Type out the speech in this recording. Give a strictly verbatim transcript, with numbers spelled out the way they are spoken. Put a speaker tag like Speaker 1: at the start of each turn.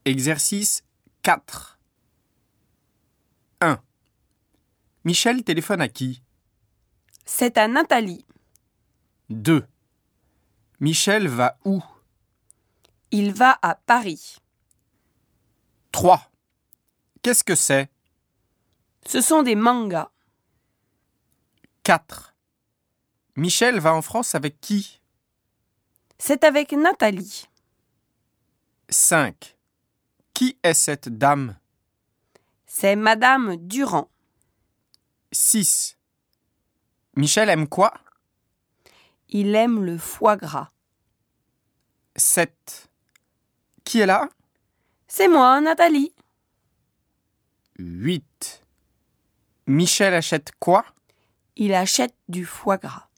Speaker 1: Exercice quatre. un. Michel téléphone à qui?
Speaker 2: C'est à Nathalie.
Speaker 1: deux. Michel va où?
Speaker 2: Il va à Paris.
Speaker 1: trois. Qu'est-ce que c'est?
Speaker 2: Ce sont des mangas.
Speaker 1: quatre. Michel va en France avec qui?
Speaker 2: C'est avec Nathalie.
Speaker 1: cinq. Qui est cette dame?
Speaker 2: C'est Madame Durand.
Speaker 1: six. Michel aime quoi?
Speaker 2: Il aime le foie gras.
Speaker 1: sept. Qui est là?
Speaker 2: C'est moi, Nathalie.
Speaker 1: huit. Michel achète quoi?
Speaker 2: Il achète du foie gras.